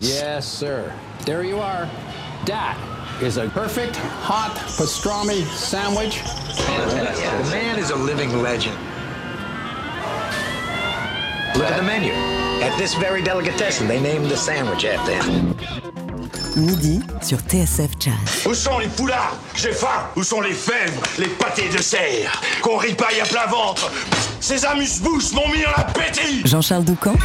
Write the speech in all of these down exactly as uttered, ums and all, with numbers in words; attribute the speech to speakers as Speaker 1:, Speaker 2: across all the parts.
Speaker 1: Yes, sir. There you are. That is a perfect hot pastrami sandwich.
Speaker 2: The man is a living legend. Look at the menu. At this very delicatessen, they named the sandwich after him.
Speaker 3: Midi sur T S F Jazz.
Speaker 4: Où sont les poulards? J'ai faim. Où sont les fèves, les pâtés de serre qu'on ripaille à plein ventre? Ces amuse-bouches m'ont mis en appétit.
Speaker 3: Jean-Charles Doucan.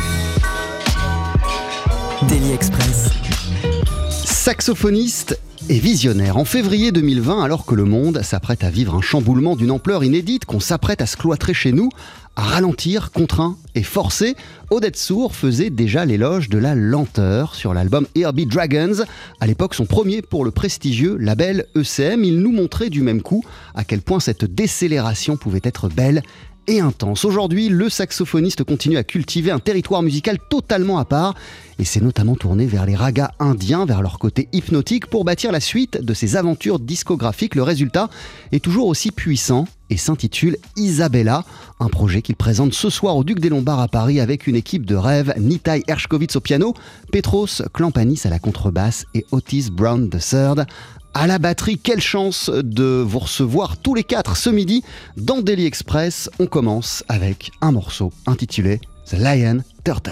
Speaker 3: Daily Express.
Speaker 5: Saxophoniste et visionnaire. En février deux mille vingt, alors que le monde s'apprête à vivre un chamboulement d'une ampleur inédite, qu'on s'apprête à se cloîtrer chez nous, à ralentir, contraint et forcé, Oded Sour faisait déjà l'éloge de la lenteur sur l'album Here Be Dragons, à l'époque son premier pour le prestigieux label E C M. Il nous montrait du même coup à quel point cette décélération pouvait être belle et intense. Aujourd'hui, le saxophoniste continue à cultiver un territoire musical totalement à part et s'est notamment tourné vers les ragas indiens, vers leur côté hypnotique pour bâtir la suite de ses aventures discographiques. Le résultat est toujours aussi puissant et s'intitule Isabella, un projet qu'il présente ce soir au Duc des Lombards à Paris avec une équipe de rêve, Nitai Hershkovitz au piano, Petros Klampanis à la contrebasse et Otis Brown the third à la batterie. Quelle chance de vous recevoir tous les quatre ce midi dans Daily Express. On commence avec un morceau intitulé The Lion Turtle.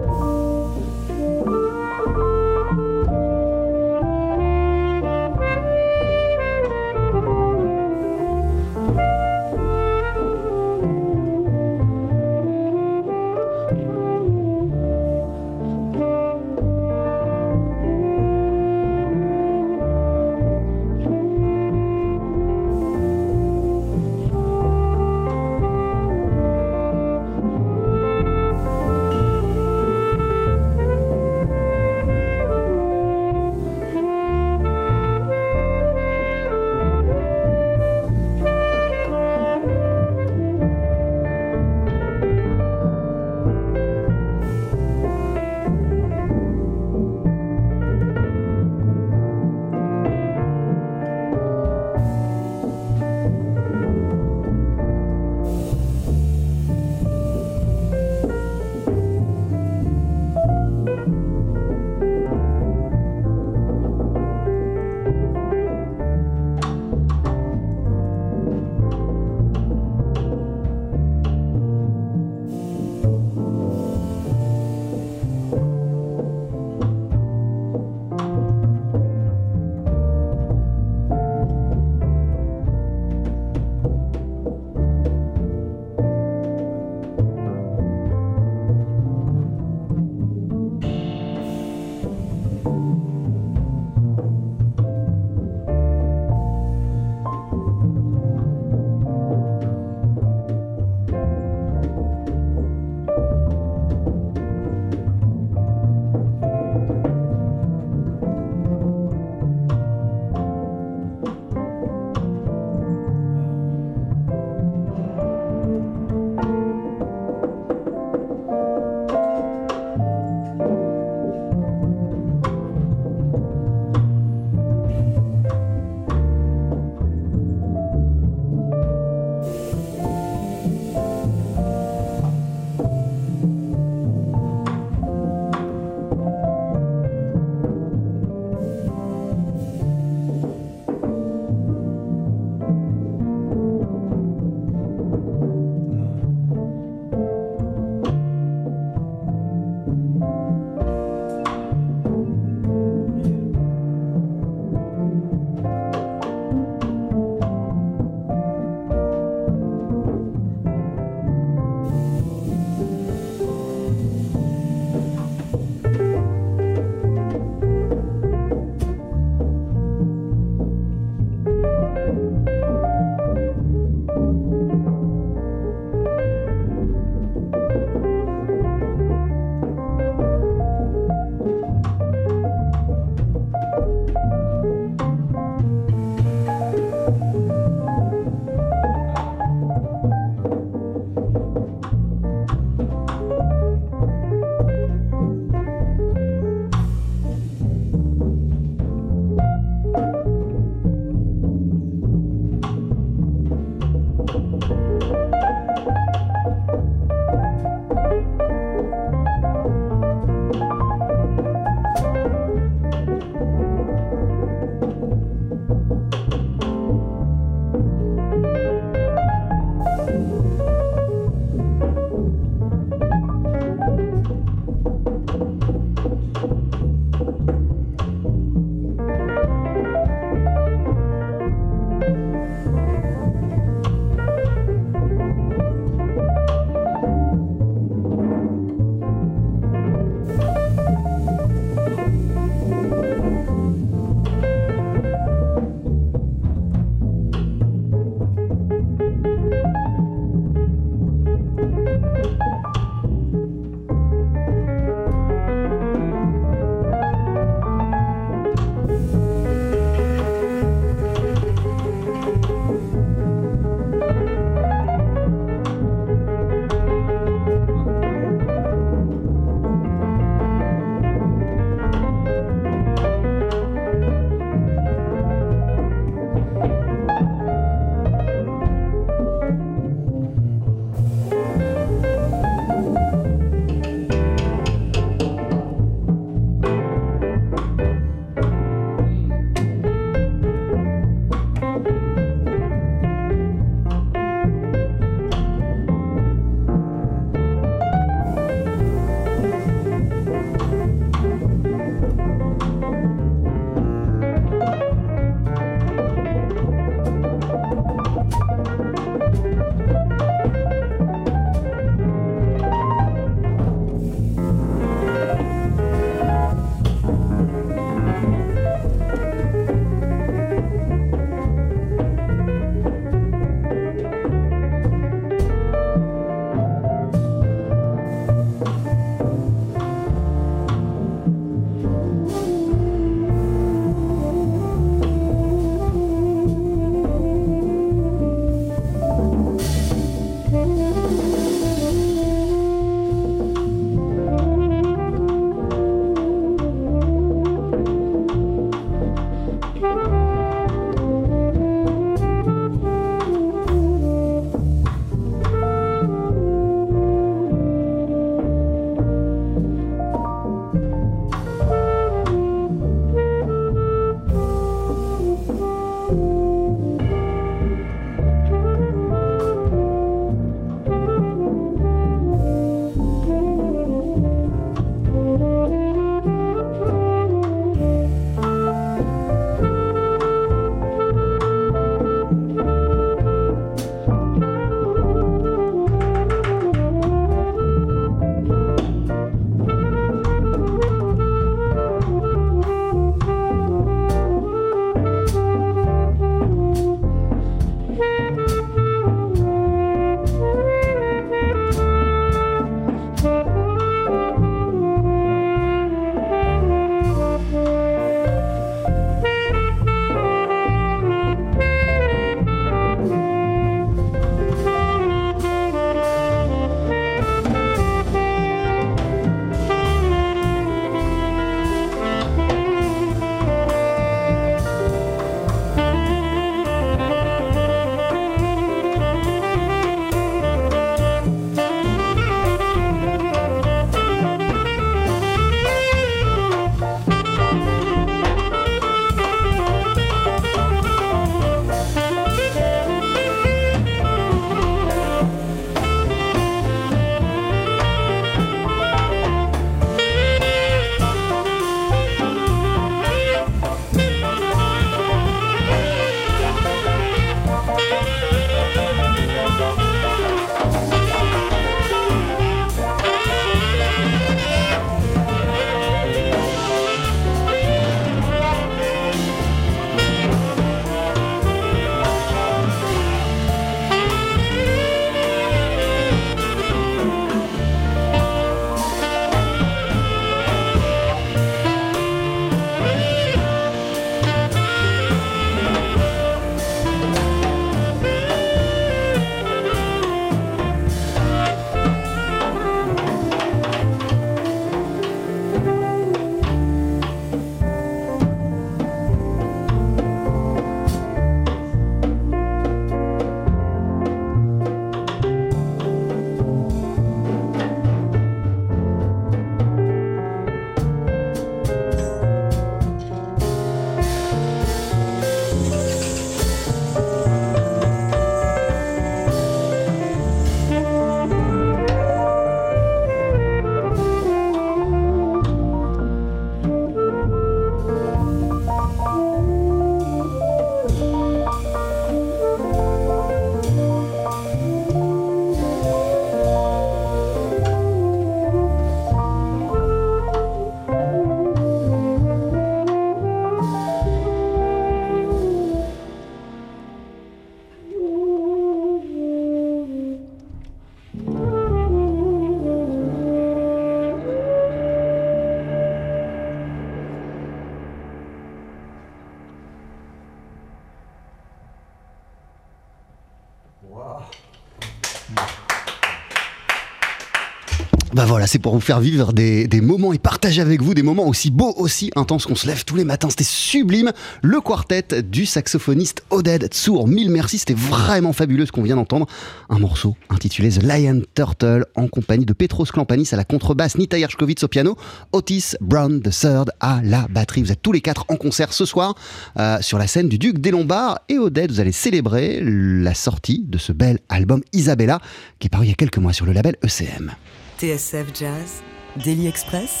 Speaker 5: Bah voilà, c'est pour vous faire vivre des, des moments et partager avec vous des moments aussi beaux, aussi intenses qu'on se lève tous les matins. C'était sublime. Le quartet du saxophoniste Oded Tsour. Mille merci, c'était vraiment fabuleux ce qu'on vient d'entendre. Un morceau intitulé The Lion Turtle en compagnie de Petros Klampanis à la contrebasse, Nita Yershkovitz au piano, Otis Brown the third à la batterie. Vous êtes tous les quatre en concert ce soir euh, sur la scène du Duc des Lombards. Et Oded, vous allez célébrer la sortie de ce bel album Isabella qui est paru il y a quelques mois sur le label E C M.
Speaker 3: T S F Jazz, Daily Express,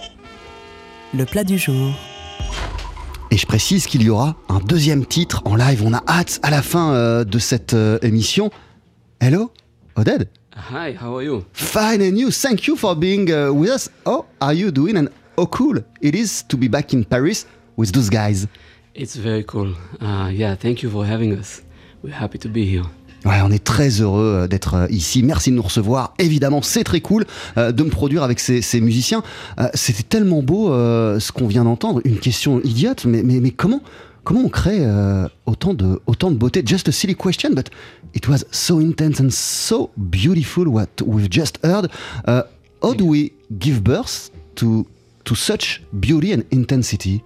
Speaker 3: le plat du jour.
Speaker 5: Et je précise qu'il y aura un deuxième titre en live. On a hâte à la fin euh, de cette euh, émission. Hello, Oded.
Speaker 6: Hi, how are you?
Speaker 5: Fine, and you? Thank you for being uh, with us. How are you doing? And how cool it is to be back in Paris with those guys.
Speaker 6: It's very cool. Uh, yeah, thank you for having us. We're happy to be here.
Speaker 5: Ouais, on est très heureux d'être ici. Merci de nous recevoir. Évidemment, c'est très cool euh, de me produire avec ces, ces musiciens. Euh, c'était tellement beau euh, ce qu'on vient d'entendre. Une question idiote, mais, mais, mais comment, comment on crée euh, autant, de, autant de beauté? Just a silly question, but it was so intense and so beautiful what we've just heard. Uh, how do we give birth to, to such beauty and intensity?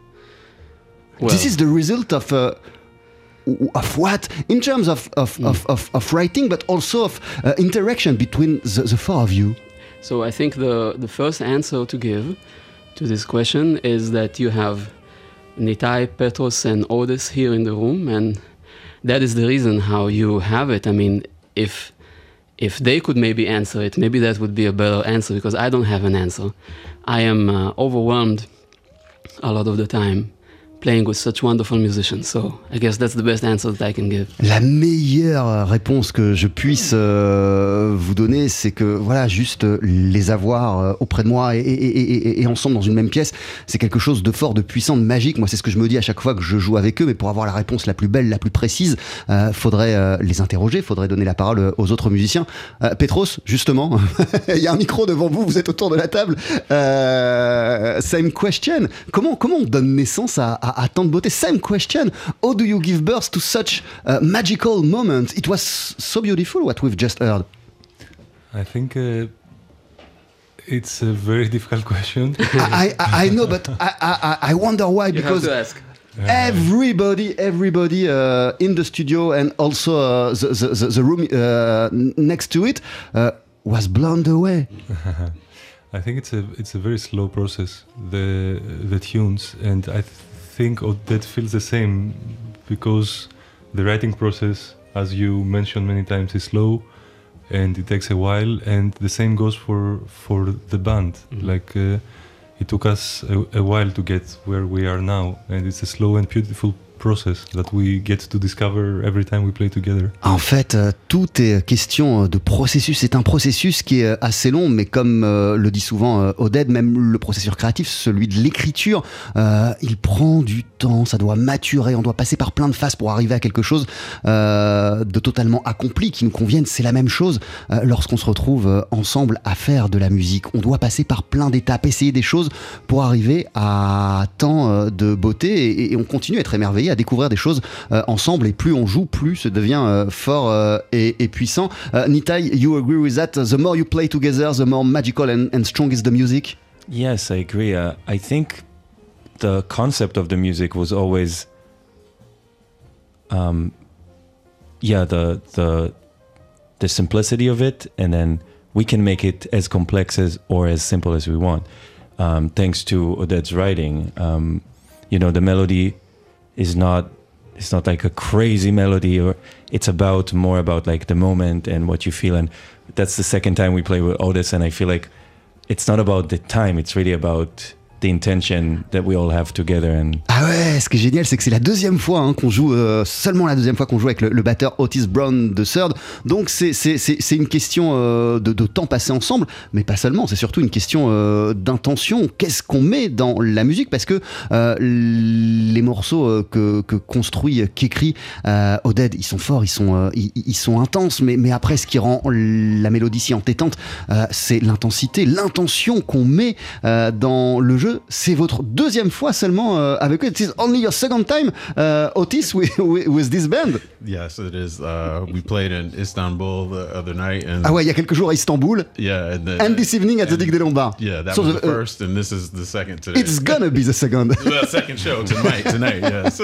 Speaker 6: Well,
Speaker 5: This is the result of... Uh, of what in terms of of, mm. of, of, of writing, but also of uh, interaction between the, the four of you?
Speaker 6: So I think the, the first answer to give to this question is that you have Nitai, Petros and Otis here in the room, and that is the reason how you have it. I mean, if if they could maybe answer it, maybe that would be a better answer, because I don't have an answer. I am uh, overwhelmed a lot of the time playing with such wonderful musicians, so I guess that's the best answer that I can give.
Speaker 5: La meilleure réponse que je puisse euh, vous donner, c'est que voilà, juste les avoir euh, auprès de moi et, et, et, et ensemble dans une même pièce, c'est quelque chose de fort, de puissant, de magique. Moi, c'est ce que je me dis à chaque fois que je joue avec eux, mais pour avoir la réponse la plus belle, la plus précise, euh, faudrait euh, les interroger, faudrait donner la parole aux autres musiciens. Euh, Petros, justement, il y a un micro devant vous, vous êtes autour de la table. Euh, same question. Comment, comment on donne naissance à, à À, à tant de beauté. Same question. How do you give birth to such a magical moment? It was so beautiful what we've just heard.
Speaker 7: I think uh, it's a very difficult question.
Speaker 5: I, I, I know, but I, I, I wonder why.
Speaker 6: You
Speaker 5: because
Speaker 6: have to ask.
Speaker 5: Everybody, everybody uh, in the studio and also uh, the, the, the room uh, next to it uh, was blown away.
Speaker 7: I think it's a it's a very slow process. The the tunes, and I th- think that feels the same, because the writing process, as you mentioned many times, is slow, and it takes a while. And the same goes for for the band. Mm-hmm. Like uh, it took us a, a while to get where we are now, and it's a slow and beautiful process that we get to discover every time we play together.
Speaker 5: En fait, euh, tout est question de processus. C'est un processus qui est assez long, mais comme euh, le dit souvent euh, Oded, même le processus créatif, celui de l'écriture, euh, il prend du temps, ça doit maturer, on doit passer par plein de phases pour arriver à quelque chose euh, de totalement accompli, qui nous convienne. C'est la même chose euh, lorsqu'on se retrouve euh, ensemble à faire de la musique. On doit passer par plein d'étapes, essayer des choses pour arriver à tant euh, de beauté, et, et on continue à être émerveillé, à découvrir des choses euh, ensemble, et plus on joue, plus ça devient euh, fort euh, et, et puissant. Uh, Nitai, you agree with that? The more you play together, the more magical and, and strong is the music?
Speaker 8: Yes, I agree. Uh, I think the concept of the music was always, um, yeah, the the the simplicity of it, and then we can make it as complex as or as simple as we want. Um, thanks to Oded's writing, um, you know, the melody is not it's not like a crazy melody, or it's about more about like the moment and what you feel. And that's the second time we play with Otis, and I feel like it's not about the time, it's really about the intention that we all have together. And
Speaker 5: ah ouais, ce qui est génial, c'est que c'est la deuxième fois hein, qu'on joue, euh, seulement la deuxième fois qu'on joue avec le, le batteur Otis Brown the third. Donc c'est, c'est, c'est, c'est une question euh, de, de temps passé ensemble, mais pas seulement, c'est surtout une question euh, d'intention. Qu'est-ce qu'on met dans la musique? Parce que euh, les morceaux euh, que, que construit, qu'écrit euh, Oded, ils sont forts, ils sont, euh, ils, ils sont intenses, mais, mais après, ce qui rend la mélodie si entêtante, euh, c'est l'intensité, l'intention qu'on met euh, dans le jeu. C'est votre deuxième fois seulement euh, avec eux. It's only your second time, uh, Otis, with, with, with this band.
Speaker 9: Yes, it is. Uh, we played in Istanbul the other night. And
Speaker 5: ah ouais, il y a quelques jours à Istanbul.
Speaker 9: Yeah. And, the,
Speaker 5: and this evening at the Duc des Lombards.
Speaker 9: Yeah, that
Speaker 5: so
Speaker 9: was
Speaker 5: the,
Speaker 9: the first, and this is the second today.
Speaker 5: It's gonna be the second.
Speaker 9: Well, second show tonight. Tonight, yes.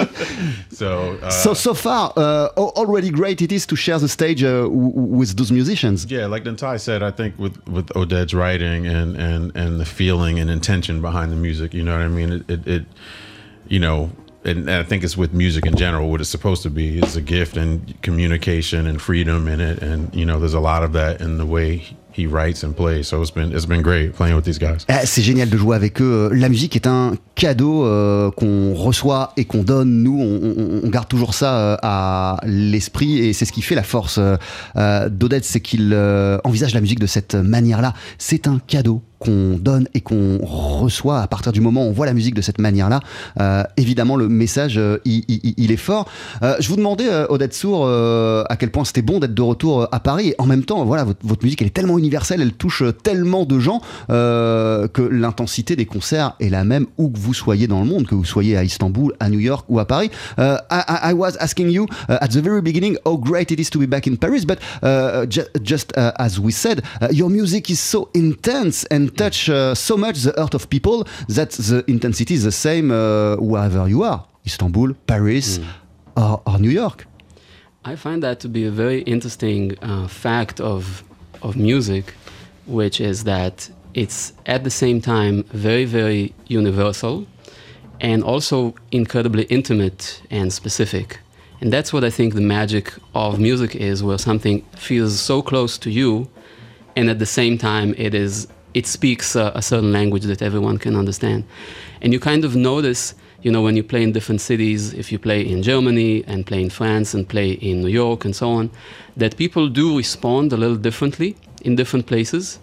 Speaker 9: so. Uh,
Speaker 5: so so far, uh, already great it is to share the stage uh, w- with those musicians.
Speaker 9: Yeah, like Nantai said, I think with with Oded's writing and and and the feeling and intention behind the music, you know what I mean? It it, it you know. And I think it's with music in general, what it's supposed to be. It's a gift and communication and freedom in it. And, you know, there's a lot of that in the way he writes and plays. So it's been it's been great playing with these guys.
Speaker 5: Eh, c'est génial de jouer avec eux. La musique est un cadeau euh, qu'on reçoit et qu'on donne. Nous, on, on, on garde toujours ça euh, à l'esprit et c'est ce qui fait la force euh, d'Oded, c'est qu'il euh, envisage la musique de cette manière-là. C'est un cadeau qu'on donne et qu'on reçoit à partir du moment où on voit la musique de cette manière-là. Euh, évidemment, le message, euh, il, il, il est fort. Euh, je vous demandais, euh, Oded Sour, euh, à quel point c'était bon d'être de retour à Paris. Et en même temps, voilà, votre, votre musique, elle est tellement universelle, elle touche tellement de gens euh, que l'intensité des concerts est la même où que vous soyez dans le monde, que vous soyez à Istanbul, à New York ou à Paris. Uh, I, I was asking you uh, at the very beginning how great it is to be back in Paris, but uh, ju- just uh, as we said, uh, your music is so intense and touch uh, so much the heart of people that the intensity is the same uh, wherever you are, Istanbul, Paris, mm. or, or New York.
Speaker 6: I find that to be a very interesting uh, fact of of music, which is that it's at the same time very, very universal and also incredibly intimate and specific. And that's what I think the magic of music is, where something feels so close to you and at the same time it is it speaks a, a certain language that everyone can understand. And you kind of notice, you know, when you play in different cities, if you play in Germany and play in France and play in New York and so on, that people do respond a little differently in different places.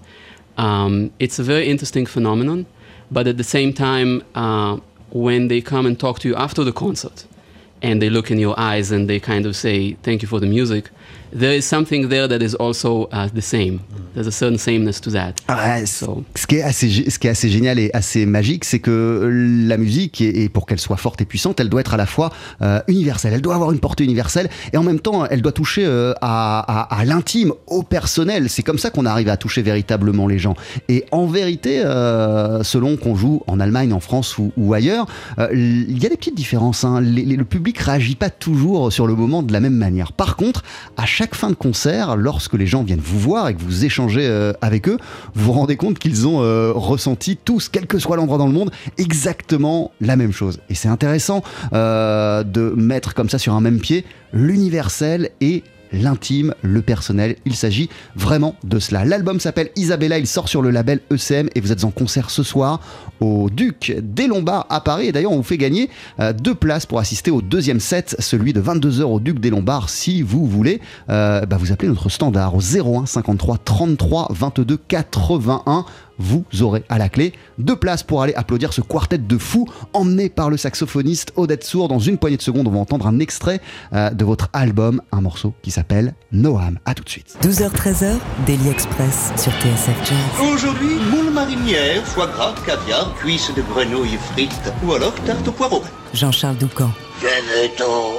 Speaker 6: Um, it's a very interesting phenomenon, but at the same time, uh, when they come and talk to you after the concert, and they look in your eyes and they kind of say, thank you for the music, there is something there that is also uh, the same. There's a certain sameness to that.
Speaker 5: Ah,
Speaker 6: so.
Speaker 5: ce, qui est assez, ce qui est assez génial et assez magique, c'est que la musique, et, et pour qu'elle soit forte et puissante, elle doit être à la fois euh, universelle, elle doit avoir une portée universelle, et en même temps, elle doit toucher euh, à, à, à l'intime, au personnel. C'est comme ça qu'on arrive à toucher véritablement les gens. Et en vérité, euh, selon qu'on joue en Allemagne, en France ou, ou ailleurs, euh, il y a des petites différences. Hein. Les, les, le public réagit pas toujours sur le moment de la même manière. Par contre, à chaque fin de concert, lorsque les gens viennent vous voir et que vous échangez euh, avec eux, vous vous rendez compte qu'ils ont euh, ressenti tous, quel que soit l'endroit dans le monde, exactement la même chose. Et c'est intéressant euh, de mettre comme ça sur un même pied l'universel et l'intime, le personnel. Il s'agit vraiment de cela. L'album s'appelle Isabella, il sort sur le label E C M et vous êtes en concert ce soir au Duc des Lombards à Paris. Et d'ailleurs, on vous fait gagner euh, deux places pour assister au deuxième set, celui de vingt-deux heures au Duc des Lombards. Si vous voulez, euh, bah vous appelez notre standard au zéro un cinquante-trois trente-trois vingt-deux quatre-vingt-un. Vous aurez à la clé deux places pour aller applaudir ce quartet de fous emmené par le saxophoniste Oded Sour. Dans une poignée de secondes, on va entendre un extrait euh, de votre album, un morceau qui s'appelle Noam. À tout de suite.
Speaker 3: douze heures treize heures, Daily Express sur T S F Jazz.
Speaker 10: Aujourd'hui, moule marinière, foie gras, caviar, cuisses de grenouille frites ou alors tarte au poireau.
Speaker 3: Jean-Charles Doucan.
Speaker 10: Venez-t'en.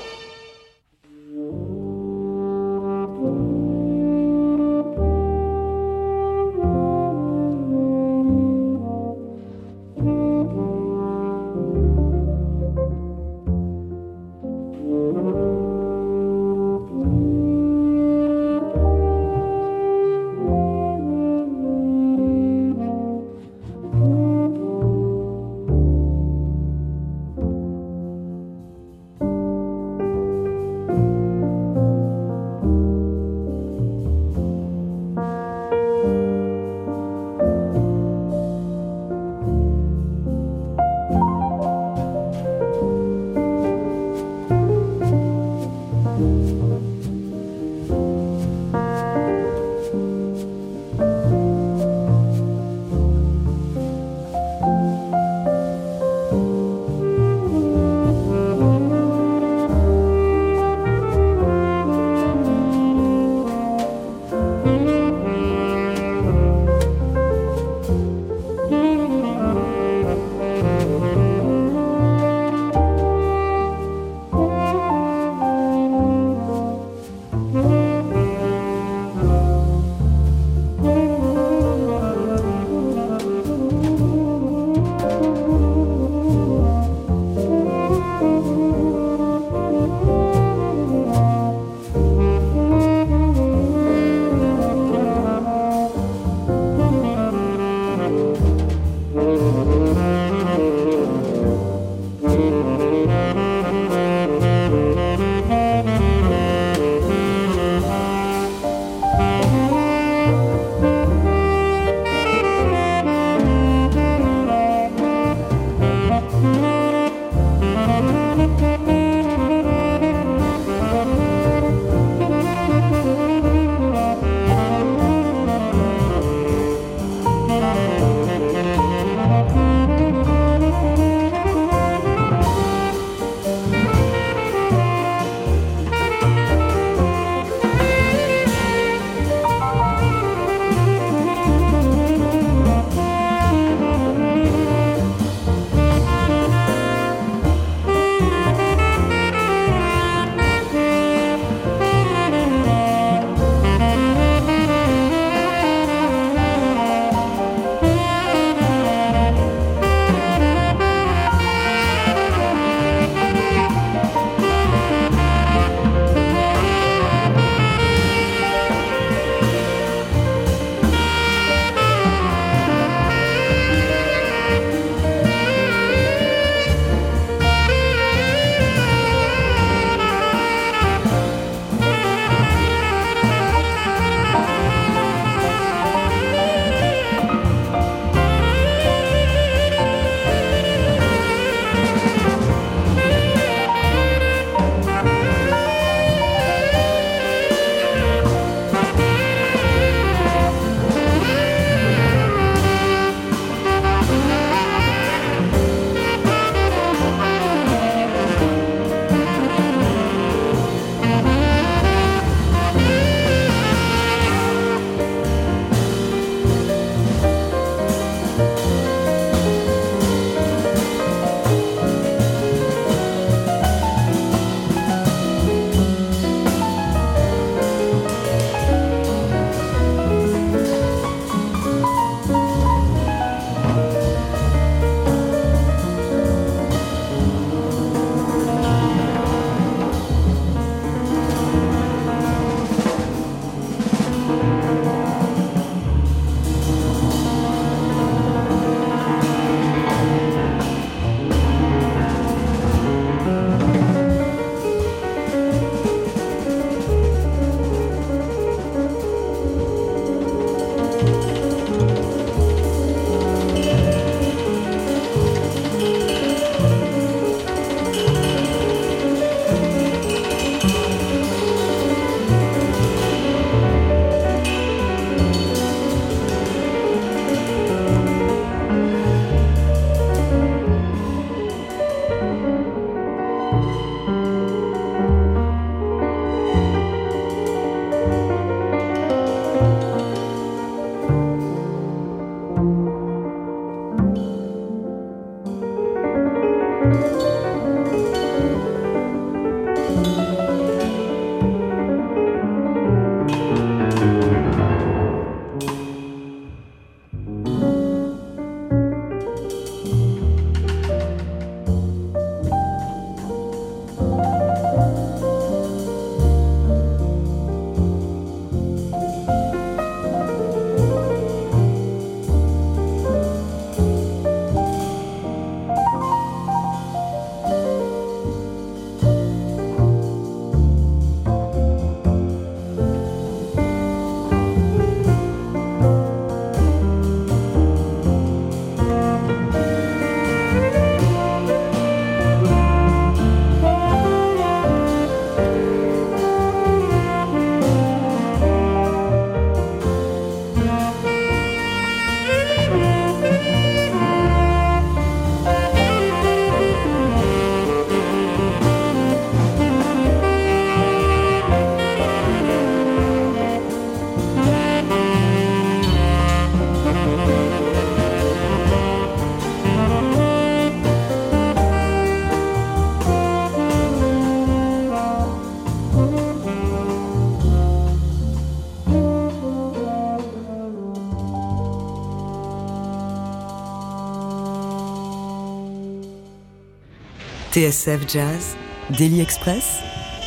Speaker 3: T S F Jazz, Daily Express,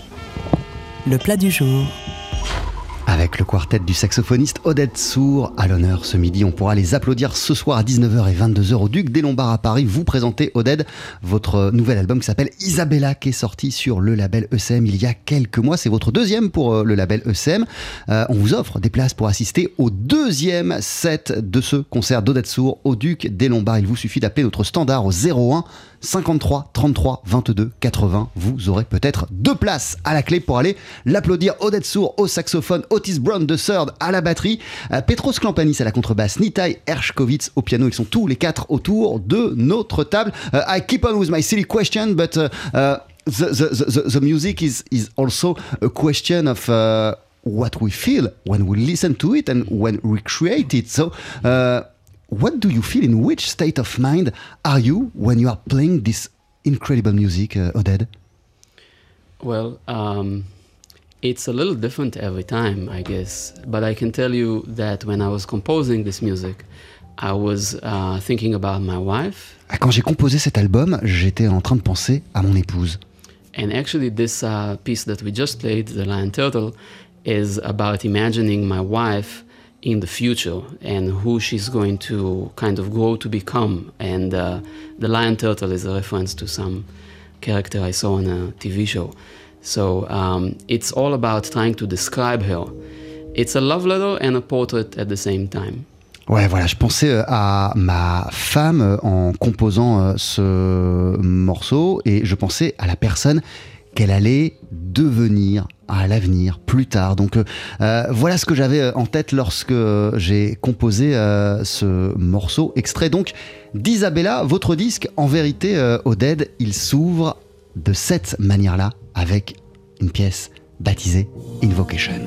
Speaker 3: le plat du jour.
Speaker 5: Avec le quartet du saxophoniste Oded Sour à l'honneur ce midi, on pourra les applaudir ce soir à dix-neuf heures et vingt-deux heures au Duc des Lombards à Paris. Vous présentez, Oded, votre nouvel album qui s'appelle Isabella, qui est sorti sur le label E C M il y a quelques mois. C'est votre deuxième pour le label E C M. Euh, on vous offre des places pour assister au deuxième set de ce concert d'Oded Sour au Duc des Lombards. Il vous suffit d'appeler notre standard au zéro un cinquante-trois trente-trois vingt-deux quatre-vingts. Vous aurez peut-être deux places à la clé pour aller l'applaudir. Oded Sour au saxophone, Otis Brown de third à la batterie, euh, Petros Klampanis à la contrebasse, Nitai Hershkovitz au piano. Ils sont tous les quatre autour de notre table. Uh, I keep on with my silly question, but uh, uh, the, the, the, the music is, is also a question of uh, what we feel when we listen to it and when we create it. So, uh, what do you feel? In which state of mind are you when you are playing this incredible music, uh, Oded?
Speaker 6: Well, um, it's a little different every time, I guess. But I can tell you that when I was composing this music, I was uh, thinking about my wife.
Speaker 5: Quand j'ai composé cet album, j'étais en train de penser à mon épouse.
Speaker 6: And actually, this uh, piece that we just played, The Lion Turtle, is about imagining my wife in the future and who she's going to kind of grow to become. And uh, the Lion Turtle is a reference to some character I saw on a T V show. So um, it's all about trying to describe her. It's a love letter and a portrait at the same time.
Speaker 5: Ouais, voilà, je pensais à ma femme en composant ce morceau et je pensais à la personne qu'elle allait devenir à l'avenir, plus tard. Donc euh, voilà ce que j'avais en tête lorsque j'ai composé euh, ce morceau, extrait donc d'Isabella. Votre disque, en vérité, euh, Oded, il s'ouvre de cette manière-là avec une pièce baptisée Invocation.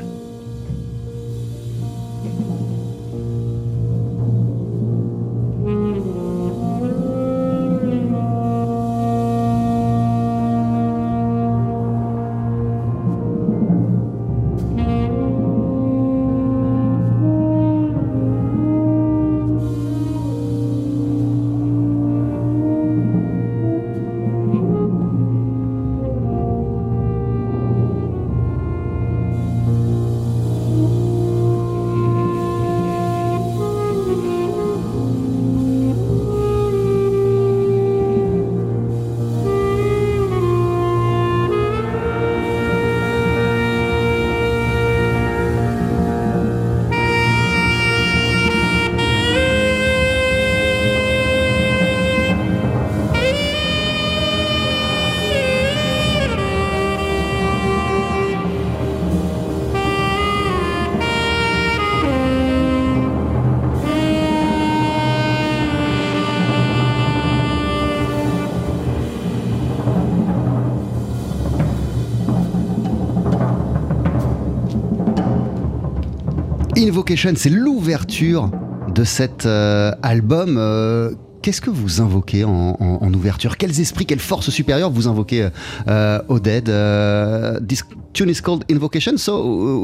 Speaker 5: Invocation, c'est l'ouverture de cet euh, album. Euh, qu'est-ce que vous invoquez en, en, en ouverture? Quels esprits, quelles forces supérieures vous invoquez, euh, Oded? uh, This tune is called Invocation. So,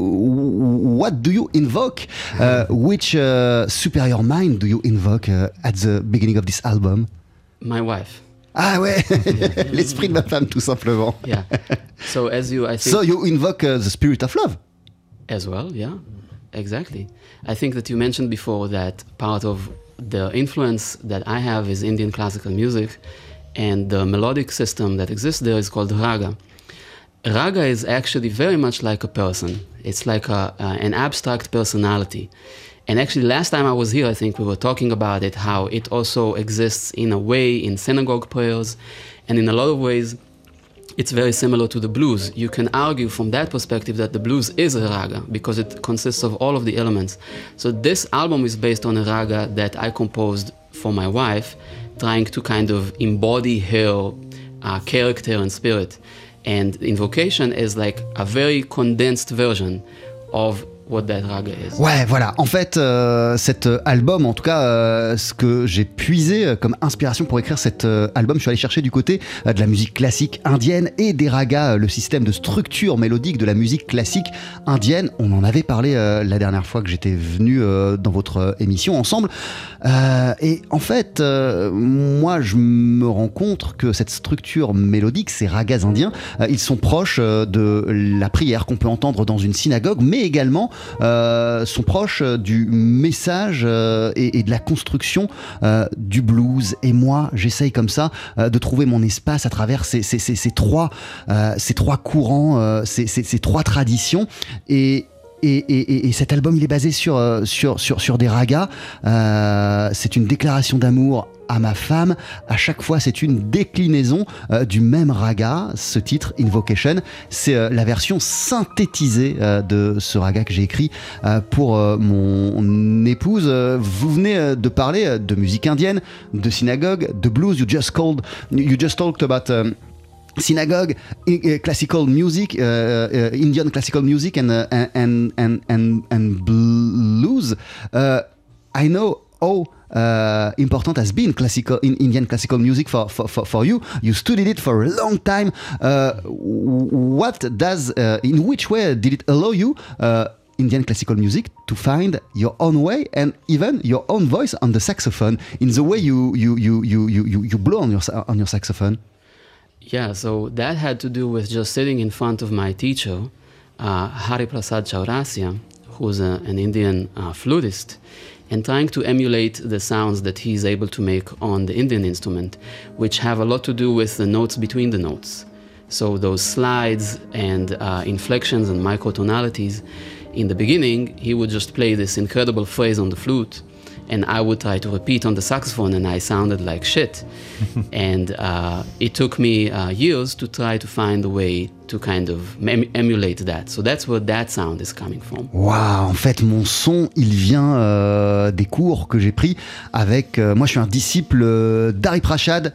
Speaker 5: uh, what do you invoke? Uh, which uh, superior mind do you invoke uh, at the beginning of this album?
Speaker 6: My wife.
Speaker 5: Ah ouais, l'esprit de ma femme, tout simplement.
Speaker 6: Yeah. So as you, I think.
Speaker 5: So you invoke uh, the spirit of love.
Speaker 6: As well, yeah. Exactly. I think that you mentioned before that part of the influence that I have is Indian classical music, and the melodic system that exists there is called raga. Raga is actually very much like a person. It's like a, uh, an abstract personality. And actually, last time I was here, I think we were talking about it, how it also exists in a way in synagogue prayers, and in a lot of ways, it's very similar to the blues. You can argue from that perspective that the blues is a raga because it consists of all of the elements. So this album is based on a raga that I composed for my wife, trying to kind of embody her uh, character and spirit. And Invocation is like a very condensed version of what that raga is.
Speaker 5: Ouais, voilà. En fait, euh, cet album, en tout cas, euh, ce que j'ai puisé comme inspiration pour écrire cet euh, album, je suis allé chercher du côté euh, de la musique classique indienne et des ragas, euh, le système de structure mélodique de la musique classique indienne. On en avait parlé euh, la dernière fois que j'étais venu euh, dans votre euh, émission ensemble. Euh, et en fait, euh, moi, je me rends compte que cette structure mélodique, ces ragas indiens, euh, ils sont proches euh, de la prière qu'on peut entendre dans une synagogue, mais également Euh, sont proches du message euh, et, et de la construction euh, du blues. Et moi, j'essaye comme ça euh, de trouver mon espace à travers ces, ces, ces, ces, trois, euh, ces trois courants, euh, ces, ces, ces trois traditions. Et Et, et, et cet album, il est basé sur, sur, sur, sur des ragas. Euh, c'est une déclaration d'amour à ma femme. À chaque fois, c'est une déclinaison euh, du même raga. Ce titre, Invocation, c'est euh, la version synthétisée euh, de ce raga que j'ai écrit euh, pour euh, mon épouse. Euh, vous venez euh, de parler euh, de musique indienne, de synagogue, de blues. You just called, you just talked about um, synagogue, uh, classical music, uh, uh, Indian classical music, and uh, and and and and blues. Uh, I know how uh, important has been classical in Indian classical music for, for, for, for you. You studied it for a long time. Uh, what does, uh, in which way did it allow you, uh, Indian classical music, to find your own way and even your own voice on the saxophone, in the way you you you you you, you blow on your on your saxophone?
Speaker 6: Yeah, so that had to do with just sitting in front of my teacher, uh, Hari Prasad Chaurasia, who's a, an Indian uh, flutist, and trying to emulate the sounds that he's able to make on the Indian instrument, which have a lot to do with the notes between the notes. So those slides and uh, inflections and microtonalities. In the beginning, he would just play this incredible phrase on the flute, and I would try to repeat on the saxophone, and I sounded like shit. And uh, it took me uh, years to try to find a way to kind of em- emulate that. So that's where that sound is coming from.
Speaker 5: Waouh, en fait, mon son, il vient euh, des cours que j'ai pris avec... Euh, moi, je suis un disciple euh, d'Hari Prasad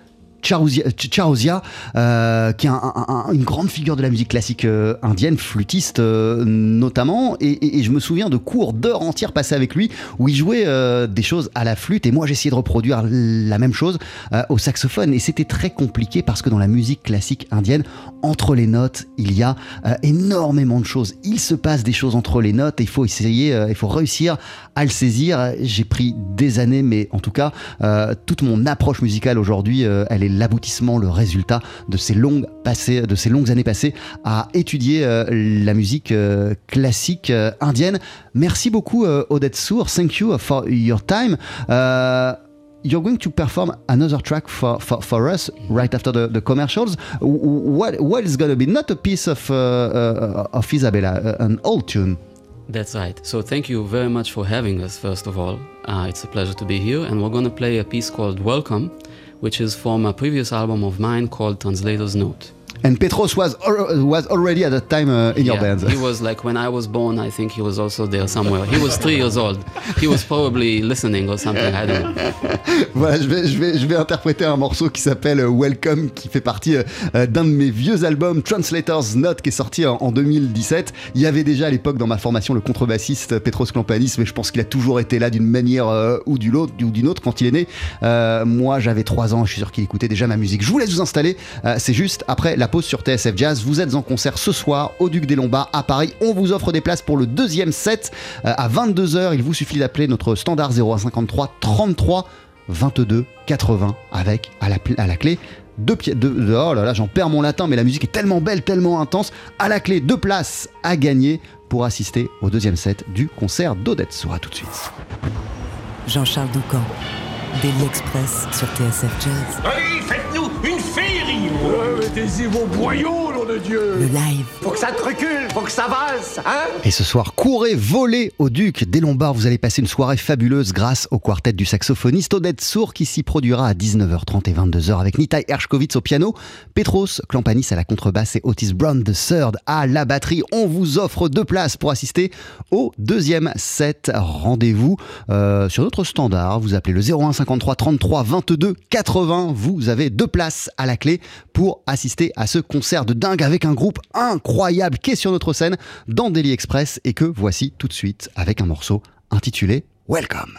Speaker 5: Chaurasia, euh, qui est un, un, un, une grande figure de la musique classique euh, indienne, flûtiste euh, notamment, et, et, et je me souviens de cours d'heures entières passées avec lui où il jouait euh, des choses à la flûte et moi j'essayais de reproduire la même chose euh, au saxophone, et c'était très compliqué parce que dans la musique classique indienne, entre les notes, il y a euh, énormément de choses. Il se passe des choses entre les notes et il faut essayer, euh, il faut réussir à le saisir. J'ai pris des années, mais en tout cas, euh, toute mon approche musicale aujourd'hui, euh, elle est l'aboutissement, le résultat de ces longues, passées, de ces longues années passées à étudier euh, la musique euh, classique euh, indienne. Merci beaucoup, euh, Oded Sour. Thank you for your time. Uh, You're going to perform another track for, for, for us right after the, the commercials. What, what is going to be? Not a piece of, uh, uh, of Isabella, uh, an old tune.
Speaker 6: That's right. So thank you very much for having us, first of all. Uh, it's a pleasure to be here. And we're going to play a piece called Welcome, which is from a previous album of mine called Translator's Note.
Speaker 5: And Petros was was already at that time uh, in
Speaker 6: yeah,
Speaker 5: your band.
Speaker 6: He was like, when I was born, I think he was also there somewhere. He was three years old. He was probably listening or something, I don't know.
Speaker 5: Voilà, je vais, je, vais, je vais interpréter un morceau qui s'appelle Welcome, qui fait partie euh, d'un de mes vieux albums, Translator's Note, qui est sorti en, en deux mille dix-sept. Il y avait déjà à l'époque dans ma formation le contrebassiste Petros Klampanis, mais je pense qu'il a toujours été là d'une manière euh, ou d'une autre, ou d'une autre quand il est né. Euh, moi, j'avais trois ans, je suis sûr qu'il écoutait déjà ma musique. Je vous laisse vous installer, euh, c'est juste après la pause sur T S F Jazz. Vous êtes en concert ce soir au Duc des Lombards à Paris. On vous offre des places pour le deuxième set euh, à vingt-deux heures. Il vous suffit d'appeler notre standard zéro un cinquante-trois trente-trois vingt-deux quatre-vingts avec à la, à la clé deux pieds. Deux, deux, oh là là, j'en perds mon latin, mais la musique est tellement belle, tellement intense. À la clé, deux places à gagner pour assister au deuxième set du concert d'Oded Sour. À tout de suite.
Speaker 3: Jean-Charles Doucan, Daily Express sur T S F Jazz.
Speaker 4: Allez, faites-nous une féerie. euh, Mettez-y vos boyaux, nom de Dieu.
Speaker 3: Le live.
Speaker 2: Faut que ça te recule, faut que ça vase, hein?
Speaker 5: Et ce soir, courez, volez au Duc des Lombards. Vous allez passer une soirée fabuleuse grâce au quartet du saxophoniste Oded Sour qui s'y produira à dix-neuf heures trente et vingt-deux heures avec Nitai Hershkovitz au piano, Petros Klampanis à la contrebasse et Otis Brown the third à la batterie. On vous offre deux places pour assister au deuxième set. Rendez-vous euh, sur notre standard. Vous appelez le zéro un cinquante-trois trente-trois vingt-deux quatre-vingts. Vous avez deux places à la clé pour assister à ce concert de dingue avec un groupe incroyable qui est sur notre scène dans Daily Express et que voici tout de suite avec un morceau intitulé Welcome.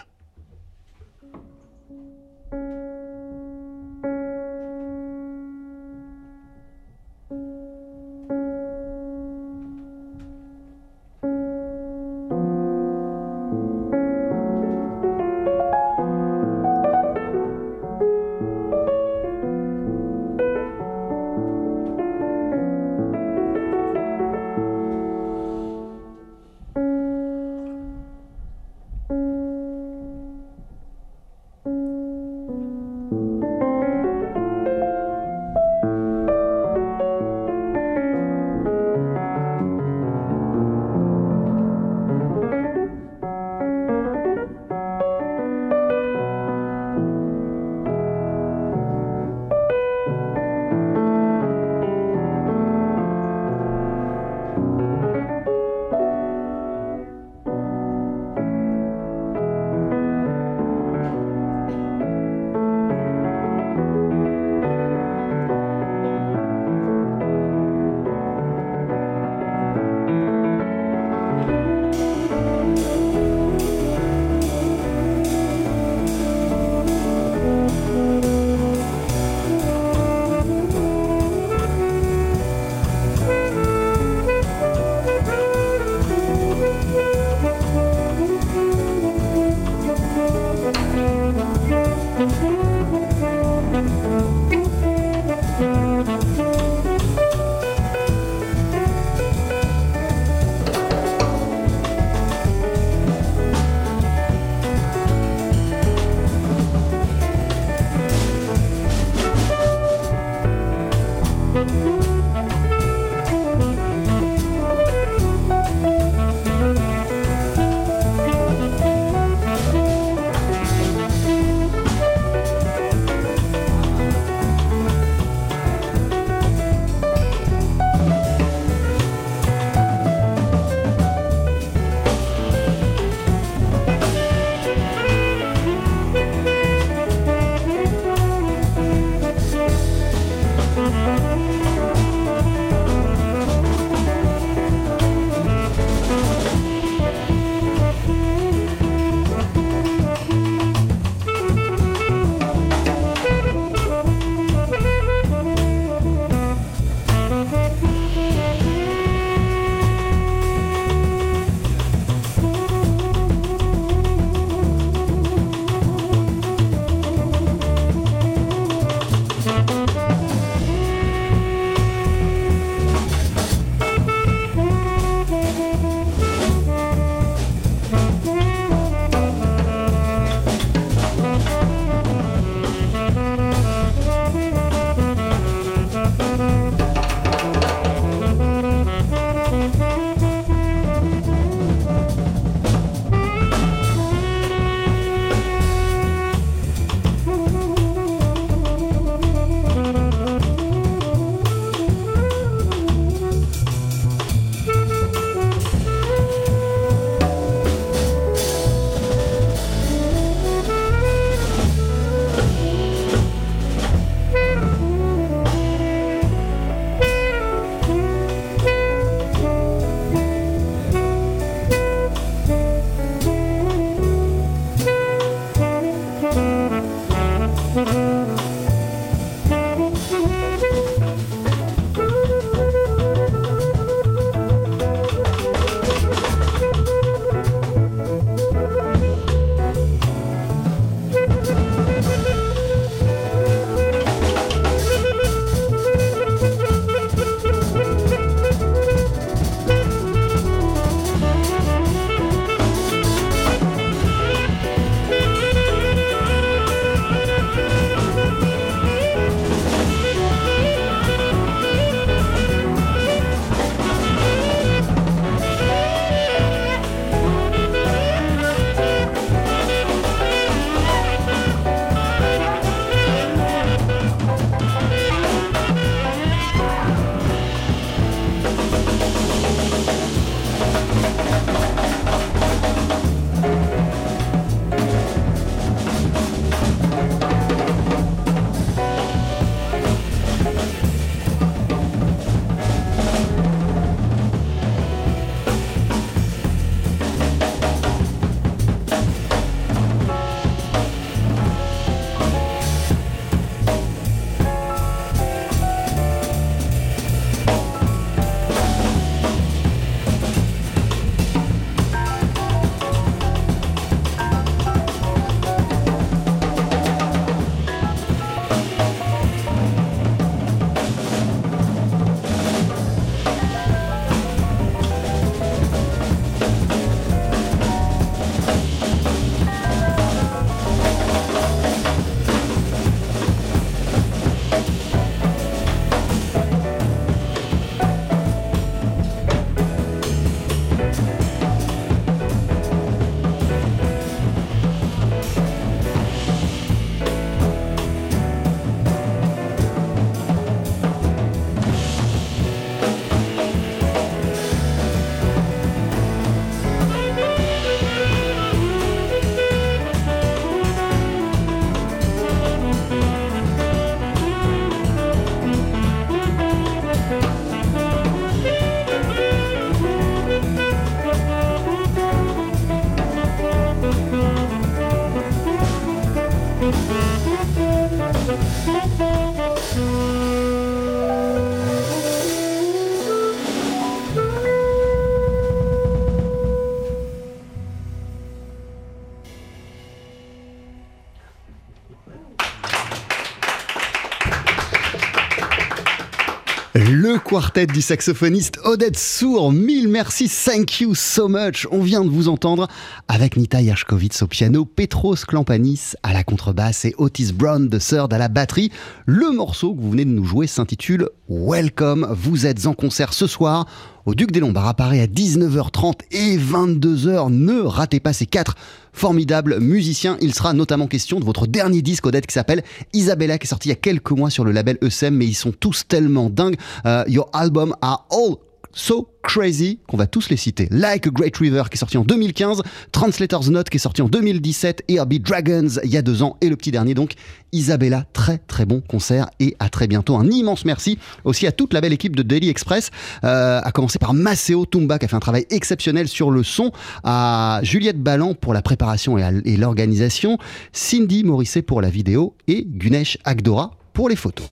Speaker 5: quartet du saxophoniste Oded Sour. Mille merci, thank you so much. On vient de vous entendre avec Nita Yershkovitz au piano, Petros Klampanis à la contrebasse et Otis Brown de Third à la batterie. Le morceau que vous venez de nous jouer s'intitule Welcome. Vous êtes en concert ce soir au Duc des Lombards à Paris à dix-neuf heures trente et vingt-deux heures. Ne ratez pas ces quatre formidables musiciens. Il sera notamment question de votre dernier disque, Oded, qui s'appelle Isabella, qui est sorti il y a quelques mois sur le label E S M, mais ils sont tous tellement dingues. Uh, your album are all so crazy qu'on va tous les citer. Like a Great River qui est sorti en deux mille quinze, Translator's Note qui est sorti en deux mille dix-sept, Herbie Dragons il y a deux ans et le petit dernier donc Isabella. Très très bon concert et à très bientôt. Un immense merci aussi à toute la belle équipe de Daily Express, euh, à commencer par Maceo Tumba qui a fait un travail exceptionnel sur le son, à Juliette Ballan pour la préparation et, à, et l'organisation, Cindy Morisset pour la vidéo et Gunesh Agdora pour les photos.